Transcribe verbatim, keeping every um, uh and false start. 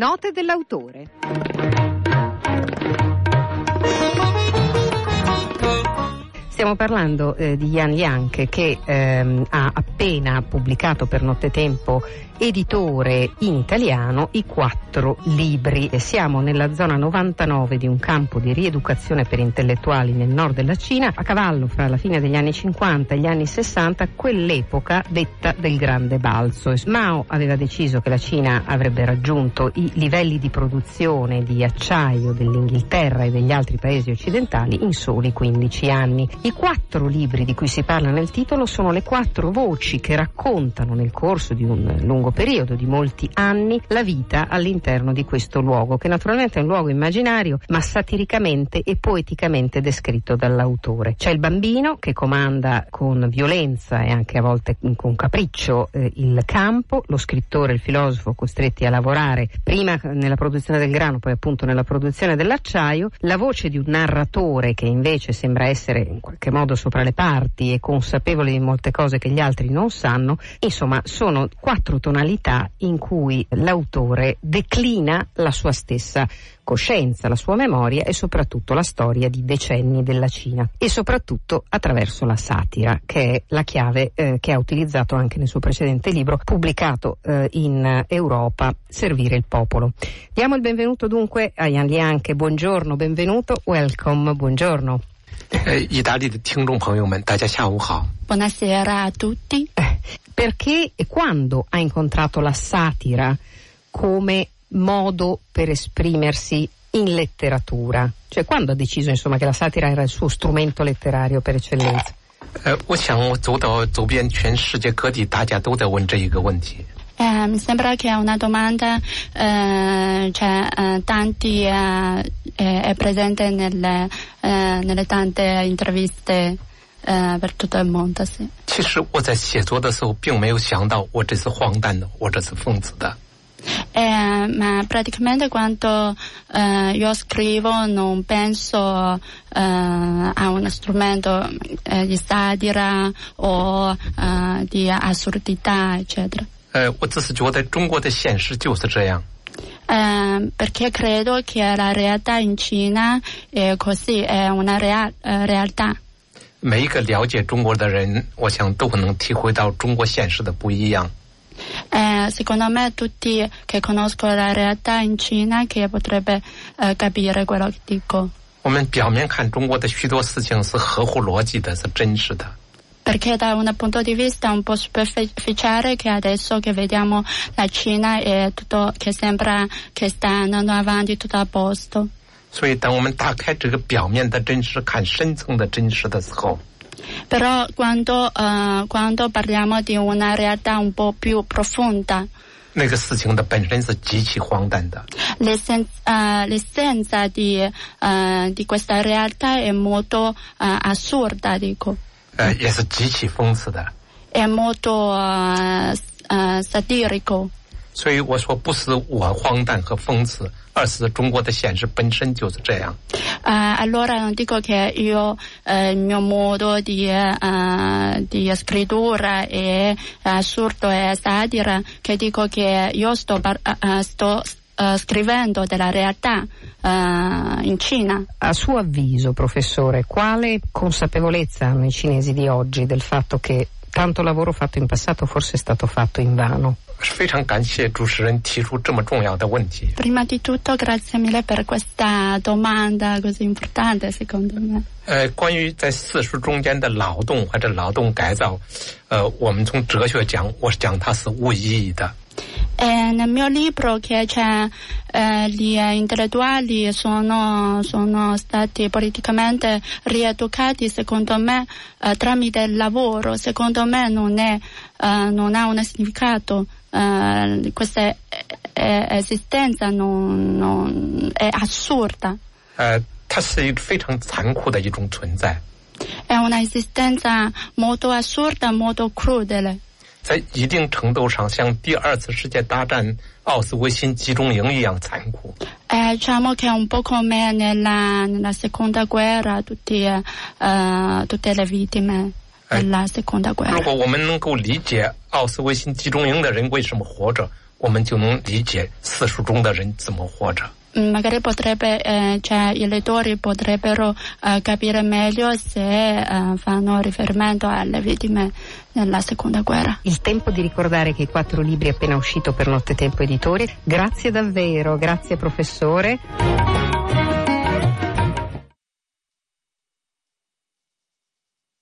Note dell'autore. Stiamo parlando eh, di Yan Liang, che ehm, ha appena pubblicato per Nottetempo, editore in italiano, i quattro libri. E siamo nella zona novantanove di un campo di rieducazione per intellettuali nel nord della Cina, a cavallo fra la fine degli anni cinquanta e gli anni sessanta, quell'epoca detta del grande balzo. Mao aveva deciso che la Cina avrebbe raggiunto i livelli di produzione di acciaio dell'Inghilterra e degli altri paesi occidentali in soli quindici anni. I quattro libri di cui si parla nel titolo sono le quattro voci che raccontano nel corso di un lungo periodo, di molti anni, la vita all'interno di questo luogo, che naturalmente è un luogo immaginario, ma satiricamente e poeticamente descritto dall'autore. C'è il bambino che comanda con violenza e anche a volte con capriccio eh, il campo, lo scrittore e il filosofo costretti a lavorare prima nella produzione del grano, poi appunto nella produzione dell'acciaio, la voce di un narratore che invece sembra essere in qualche modo sopra le parti e consapevole di molte cose che gli altri non sanno. Insomma, sono quattro tonalità in cui l'autore declina la sua stessa coscienza, la sua memoria e soprattutto la storia di decenni della Cina, e soprattutto attraverso la satira, che è la chiave eh, che ha utilizzato anche nel suo precedente libro pubblicato eh, in Europa, Servire il popolo. Diamo il benvenuto dunque a Yan Liang. Buongiorno, benvenuto, welcome, buongiorno. Eh, 意大利的听众朋友们，大家下午好。 Buonasera a tutti. Eh, perché e quando ha incontrato la satira come modo per esprimersi in letteratura? Cioè, quando ha deciso, insomma, che la satira era il suo strumento letterario per eccellenza? 呃，我想我走到走遍全世界各地，大家都在问这一个问题。 Eh, mi sembra che è una domanda eh, cioè, eh, tanti eh, è presente nelle, eh, nelle tante interviste eh, per tutto il mondo, sì. 其实我在写作的时候，并没有想到我这是荒诞的，我这是讽刺的。 Eh, ma praticamente quando eh, io scrivo non penso eh, a uno strumento eh, di satira o eh, di assurdità, eccetera. 呃，我只是觉得中国的现实就是这样。 Eh, perché credo che la realtà in Cina è così, è una real, eh, realtà. 每一个了解中国的人，我想都可能体会到中国现实的不一样。 Eh, secondo me tutti che conoscono la realtà in Cina che potrebbe eh, capire quello che dico. 我们表面看中国的许多事情是合乎逻辑的，是真实的。 Perché da un punto di vista un po' superficiale, che adesso che vediamo la Cina è tutto che sembra che sta andando avanti tutto a posto. 所以，当我们打开这个表面的真实，看深层的真实的时候， Però quando, uh, quando parliamo di una realtà un po' più profonda, 那个事情的本身是极其荒诞的。 l'essenza, uh, l'essenza di, uh, di questa realtà è molto uh, assurda, dico. 呃，也是极其讽刺的。 È molto uh, uh, satirico. 所以我说，不是我荒诞和讽刺，而是中国的现实本身就是这样。 Uh, allora non dico che io uh, il mio modo di, uh, di scrittura è assurdo e satira, che dico che io sto, uh, sto uh, scrivendo della realtà uh, in Cina. A suo avviso, professore, quale consapevolezza hanno i cinesi di oggi del fatto che tanto lavoro fatto in passato forse è stato fatto invano? 非常感谢主持人提出这么重要的问题。 Prima di tutto grazie mille per questa domanda così importante, secondo me. 呃，关于在四书中间的劳动或者劳动改造，呃，我们从哲学讲，我是讲它是无意义的。 E nel mio libro che c'è eh, gli intellettuali sono, sono stati politicamente rieducati, secondo me, eh, tramite il lavoro. Secondo me non, è, eh, non ha un significato. Eh, questa eh, esistenza non, non, è assurda. 呃，它是一个非常残酷的一种存在。 È una esistenza molto assurda, molto crudele. 在一定程度上，像第二次世界大战奥斯维辛集中营一样残酷。 Eh, diciamo che è un po' come nella, nella seconda guerra, tutti, uh, tutte le vittime della seconda guerra. 如果我们能够理解奥斯维辛集中营的人为什么活着， 我们就能理解四书中的人怎么活着。 Magari potrebbe, eh, cioè i lettori potrebbero eh, capire meglio se eh, fanno riferimento alle vittime della seconda guerra. Il tempo di ricordare che i quattro libri appena uscito per Nottetempo Editore. Grazie davvero, grazie professore.